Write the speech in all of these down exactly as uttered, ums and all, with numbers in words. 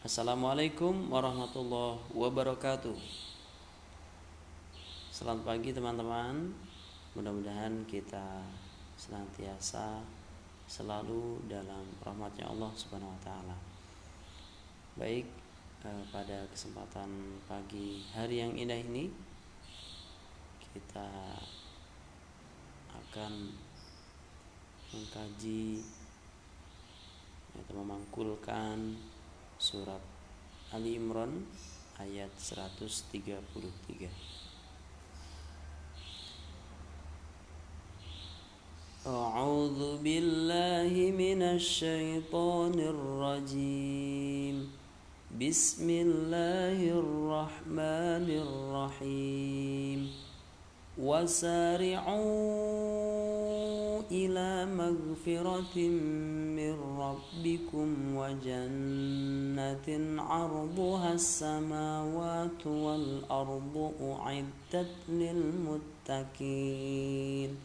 Assalamualaikum warahmatullahi wabarakatuh. Selamat pagi teman-teman. Mudah-mudahan kita senantiasa selalu dalam rahmatnya Allah Subhanahu wa taala. Baik, eh, pada kesempatan pagi hari yang indah ini kita akan mengkaji atau memangkulkan surat Ali Imran ayat seratus tiga puluh tiga. A'udzu billahi minasy syaithanir rajim. Bismillahirrahmanirrahim. Wasari'u ila magfiratin min rabbikum wa jannatin 'arduha as-samawati wal ardu u'iddat lil muttaqin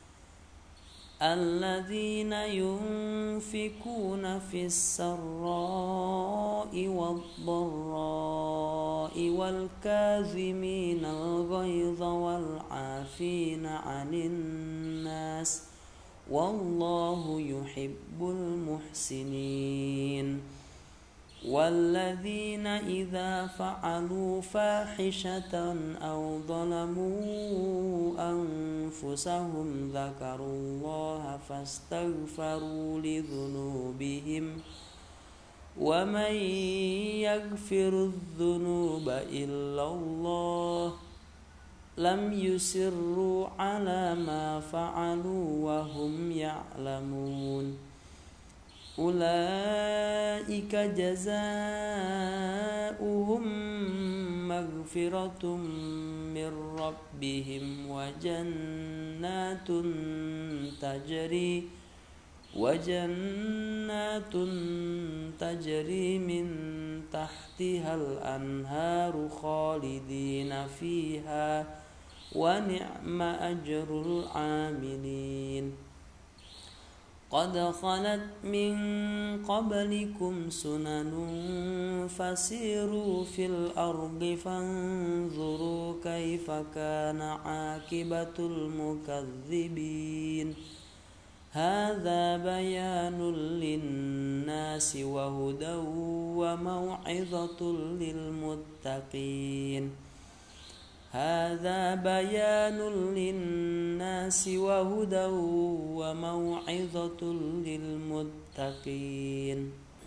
alladzina yunfikuna fis sarra'i wad dharra'i wal kazimina al ghaidha wal 'afina 'anil nas wallahu yuhibbul muhsinin walladzina idza fa'alu fahishatan aw zalamu anfusahum dzakarullaha fastaghfaru lidzunubihim wa man yaghfiru dzunuba illallah lam yusirru ala ma fa'alu wa hum ya'lamun ulaika jazaa'uhum maghfiratum mir rabbihim wa jannatun tajri wa jannatun tajri min tahtihal anharu khalidina fiha wa ni'ma ajrul 'amilin qad khalat min qablikum sunanun fasiru fil ardi fanzuru kaifa kana 'aqibatul mukadzibin hadza bayanul linnasi wa hudaw wa mau'izatul lil muttaqin هذا بيان للناس وهدى وموعظة للمتقين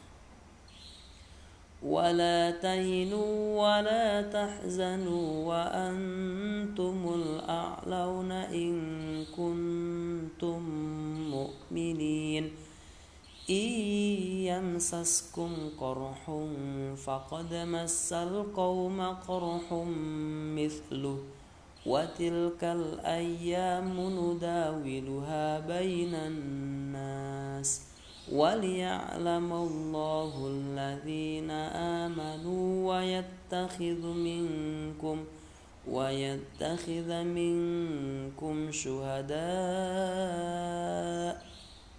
ولا تهنوا ولا تحزنوا وأنتم الأعلون إن كنتم مؤمنين إن يمسسكم قرح فقد مس القوم قرح مثله وتلك الأيام نداولها بين الناس وليعلم الله الذين آمنوا ويتخذ منكم ويتخذ منكم شهداء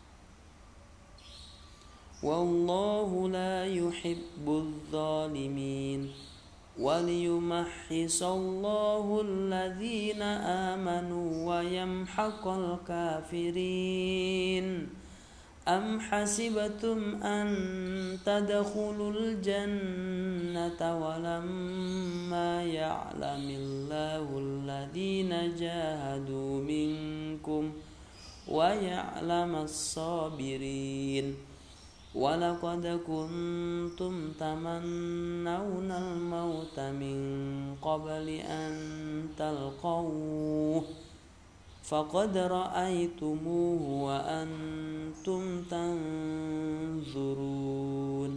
والله لا يحب الظالمين وليمحص الله الذين آمنوا ويمحق الكافرين أم حسبتم أن تدخلوا الجنة ولما يعلم الله الذين جاهدوا منكم ويعلم الصابرين وَلَقَدْ كُنْتُمْ تَمَنَّوْنَ الْمَوْتَ مِنْ قَبْلِ أَنْ تَلْقَوْهُ فَقَدْ رَأَيْتُمُوهُ وَأَنْتُمْ تَنْظُرُونَ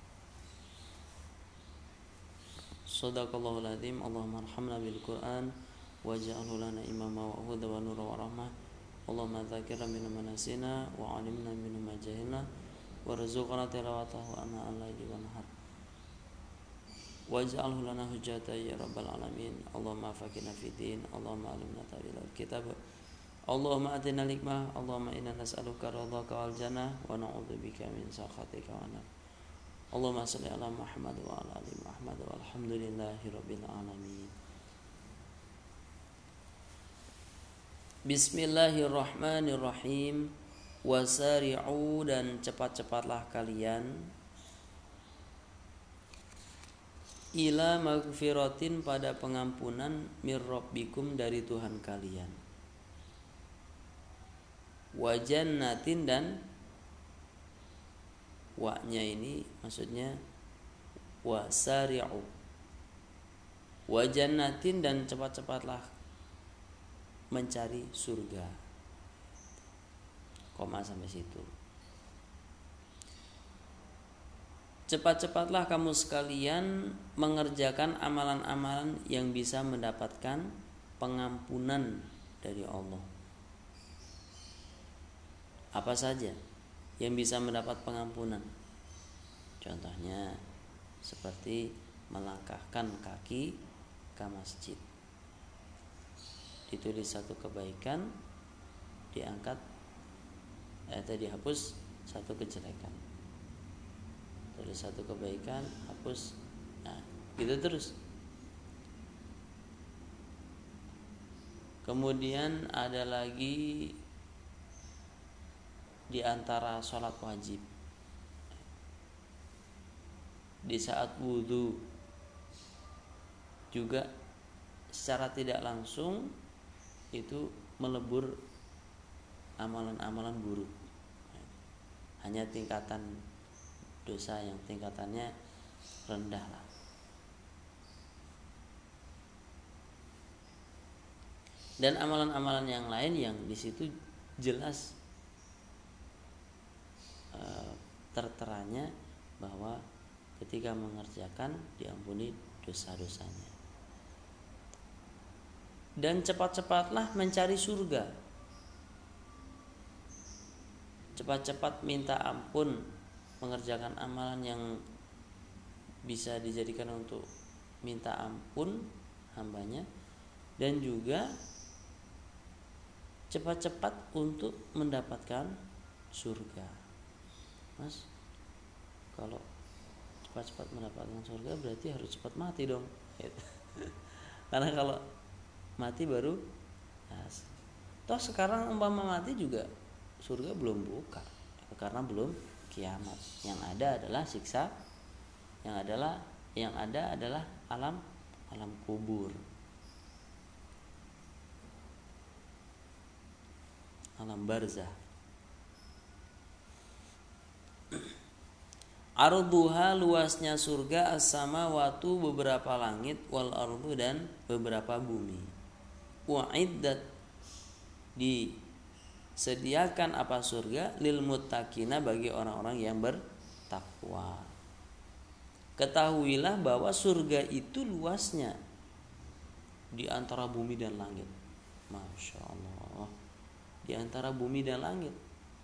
Shadaqallahul Azim. Allahumma arhamna bil Qur'an waj'alhu lana imama wa huda wa nura wa rahmah. Allahumma dzakirna minhu ma nasina wa 'allimna minhu ma jahilna warzuqna tilawatahu ana al-laili wan nahar waj'alhu lana hujjatan ya rabbal alamin. Allahumma faqihna fid din, Allahumma alimna ta'wil al-kitab, Allahumma atina al-hikmah, Allahumma inna nas'aluka ridhaka wal jannah wa na'udzubika min sakhatika wan nar. Allahumma shalli ala Muhammad wa ala ali Muhammad walhamdulillahi rabbil alamin. Bismillahirrahmanirrahim. Wasari'u, dan cepat-cepatlah kalian, ila magfiratin, pada pengampunan, mir rabbikum, dari Tuhan kalian, wa jannatin, dan wa-nya ini maksudnya wasari'u, wa jannatin, dan cepat-cepatlah mencari surga, koma sampai situ. Cepat-cepatlah kamu sekalian mengerjakan amalan-amalan yang bisa mendapatkan pengampunan dari Allah. Apa saja yang bisa mendapat pengampunan? Contohnya seperti melangkahkan kaki ke masjid, ditulis satu kebaikan, diangkat atau dihapus satu kejelekan, tulis satu kebaikan, hapus, nah gitu terus. Kemudian ada lagi di antara sholat wajib, di saat wudhu juga secara tidak langsung itu melebur amalan-amalan buruk, hanya tingkatan dosa yang tingkatannya rendah lah. Dan amalan-amalan yang lain yang di situ jelas terteranya bahwa ketika mengerjakan diampuni dosa-dosanya. Dan cepat-cepatlah mencari surga, cepat-cepat minta ampun, mengerjakan amalan yang bisa dijadikan untuk minta ampun hambanya, dan juga cepat-cepat untuk mendapatkan surga. Mas, kalau cepat-cepat mendapatkan surga berarti harus cepat mati dong. Karena kalau mati baru, nah, toh sekarang umpama mati juga surga belum buka, karena belum kiamat. Yang ada adalah siksa, yang adalah yang ada adalah alam alam kubur, alam barzah. Arduha, luasnya surga, as-samawatu, beberapa langit, wal ardu, dan beberapa bumi. Wa'iddat, disediakan apa surga, lil muttaqina, bagi orang-orang yang bertakwa. Ketahuilah bahwa surga itu luasnya di antara bumi dan langit. Masya Allah, di antara bumi dan langit.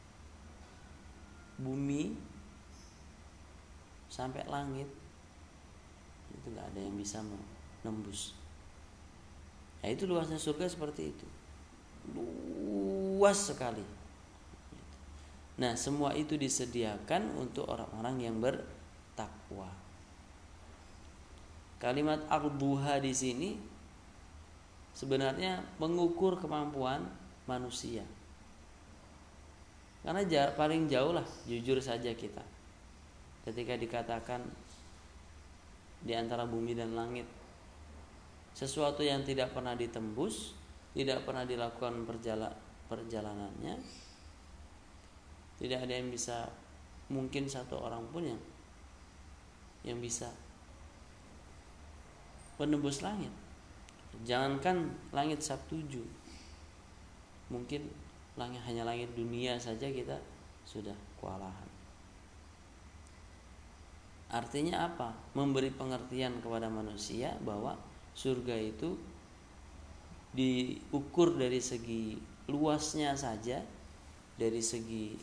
Bumi sampai langit itu nggak ada yang bisa menembus. Nah, itu luasnya surga seperti itu, luas sekali. Nah, semua itu disediakan untuk orang-orang yang bertakwa. Kalimat arduha di sini sebenarnya mengukur kemampuan manusia, karena paling jauh lah, jujur saja kita, ketika dikatakan di antara bumi dan langit, sesuatu yang tidak pernah ditembus, tidak pernah dilakukan perjala, perjalanannya, tidak ada yang bisa, mungkin satu orang pun yang yang bisa menembus langit. Jangankan langit sabtuju, mungkin langit, hanya langit dunia saja kita sudah kewalahan. Artinya apa? Memberi pengertian kepada manusia bahwa surga itu diukur dari segi luasnya saja, dari segi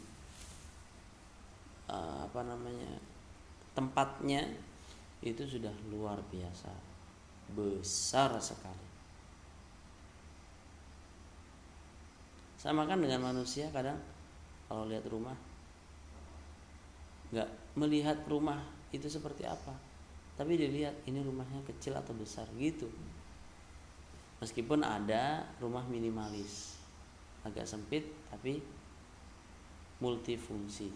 uh, apa namanya tempatnya itu sudah luar biasa besar sekali. Sama kan dengan manusia, kadang kalau lihat rumah, nggak melihat rumah itu seperti apa, tapi dilihat ini rumahnya kecil atau besar gitu. Meskipun ada rumah minimalis, agak sempit tapi multifungsi.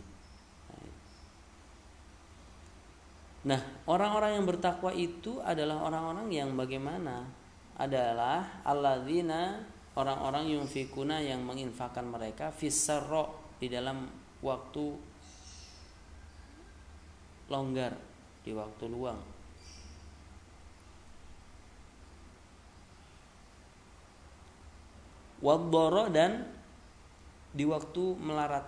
Nah, orang-orang yang bertakwa itu adalah orang-orang yang bagaimana? Adalah alladzina, orang-orang yunfikuna yang menginfakkan mereka fissarra, di dalam waktu longgar, di waktu luang. Wadhdara, dan di waktu melarat.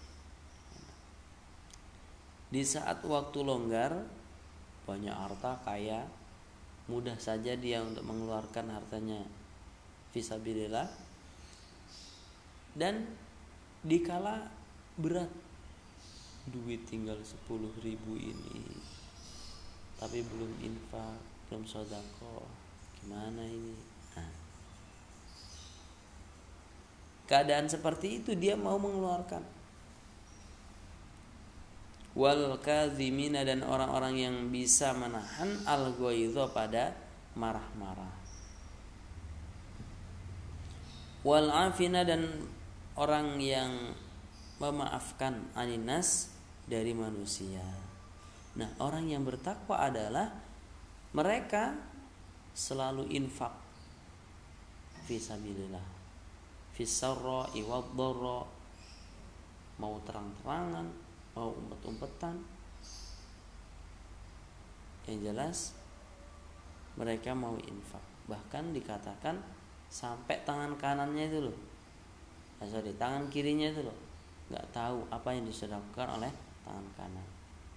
Di saat waktu longgar, banyak harta, kaya, mudah saja dia untuk mengeluarkan hartanya fisabilillah. Dan dikala berat, duit tinggal sepuluh ribu ini, tapi belum infak, belum sedekah, gimana ini? Nah, keadaan seperti itu dia mau mengeluarkan. Wal kazimina, dan orang-orang yang bisa menahan al ghaidha, pada marah-marah. Wal afina, dan orang yang memaafkan aninas, dari manusia. Nah, orang yang bertakwa adalah mereka selalu infak fisabilillah, fisarra iwadhdara, mau terang-terangan, mau umpet-umpetan, yang jelas mereka mau infak. Bahkan dikatakan sampai tangan kanannya itu loh, nah, sorry, tangan kirinya itu loh, nggak tahu apa yang disedekahkan oleh tangan kanan.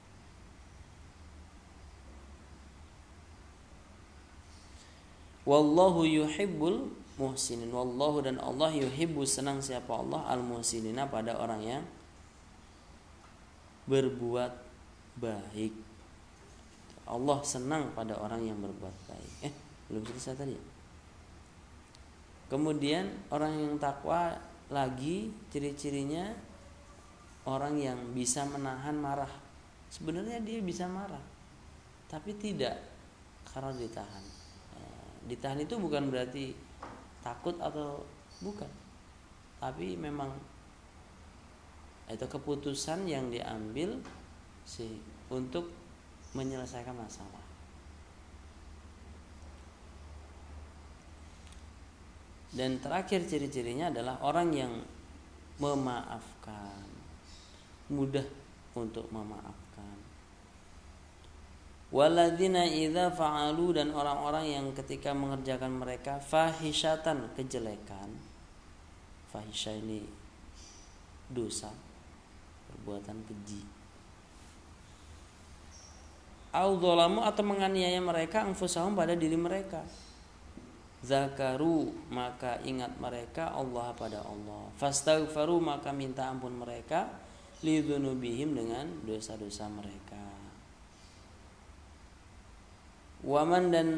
Wallahu yuhibbul muhsinin, wallahu, dan Allah yuhibbu, senang siapa Allah, al muhsinina, pada orang yang berbuat baik. Allah senang pada orang yang berbuat baik. Eh, belum selesai tadi. Kemudian orang yang takwa lagi ciri-cirinya orang yang bisa menahan marah. Sebenarnya dia bisa marah, tapi tidak karena ditahan. Ditahan itu bukan berarti takut atau bukan, tapi memang itu keputusan yang diambil sih untuk menyelesaikan masalah. Dan terakhir ciri-cirinya adalah orang yang memaafkan, mudah untuk memaafkan. Waladzina idza fa'alu, dan orang-orang yang ketika mengerjakan mereka fahisyatan, kejelekan. Fahisya ini dosa, perbuatan keji. Au dzalamu, atau menganiaya mereka anfusahum, pada diri mereka. Zakaru, maka ingat mereka Allah, pada Allah. Fastaghfaru, maka minta ampun mereka lidzunubihim, dengan dosa-dosa mereka. Waman, dan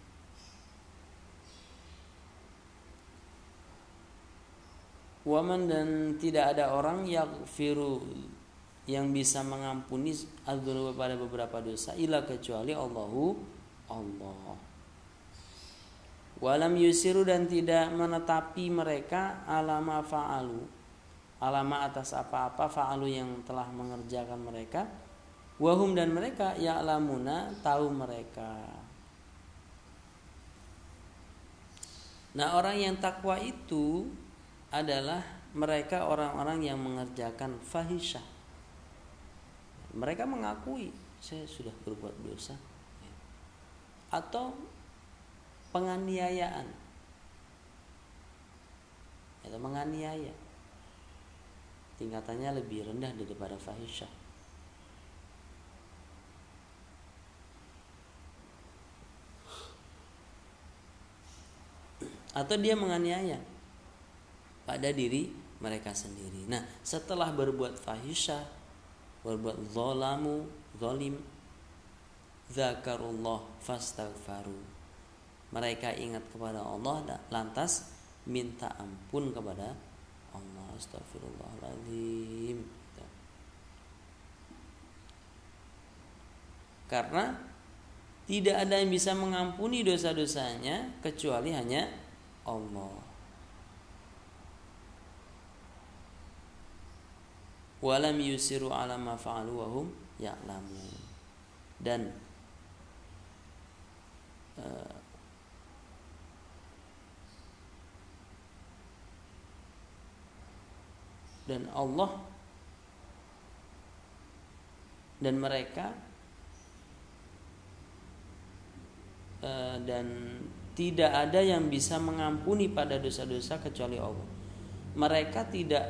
Waman, dan tidak ada orang yaghfiru, yang bisa mengampuni adzunub, pada beberapa dosa, illa, kecuali Allahu, Allah. Walam yusiru, dan tidak menetapi mereka alama fa'alu, alama atas apa-apa fa'alu, yang telah mengerjakan mereka. Wahum, dan mereka ya'lamuna, tahu mereka. Nah, orang yang takwa itu adalah mereka orang-orang yang mengerjakan fahisyah. Mereka mengakui saya sudah berbuat dosa, atau penganiayaan, atau menganiaya, tingkatannya lebih rendah daripada fahisyah. Atau dia menganiaya pada diri mereka sendiri. Nah, setelah berbuat fahisyah, berbuat zalamu, zalim, zakarullah fastaghfaru, mereka ingat kepada Allah, lantas minta ampun kepada Allah. Astagfirullahaladzim. Karena tidak ada yang bisa mengampuni dosa-dosanya kecuali hanya Allah. Walam yusiru ala ma fa'alu wa hum ya'lamun. Dan uh, dan Allah dan mereka uh, dan tidak ada yang bisa mengampuni pada dosa-dosa kecuali Allah. Mereka tidak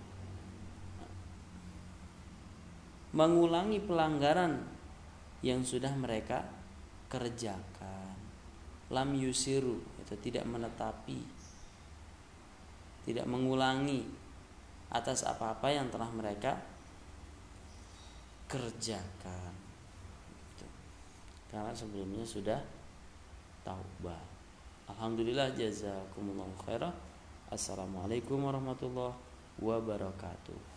mengulangi pelanggaran yang sudah mereka kerjakan. Lam yusiru, itu tidak menetapi, tidak mengulangi atas apa-apa yang telah mereka kerjakan. Karena sebelumnya sudah taubat. Alhamdulillah, jazakumullahu khairan. Assalamualaikum warahmatullahi wabarakatuh.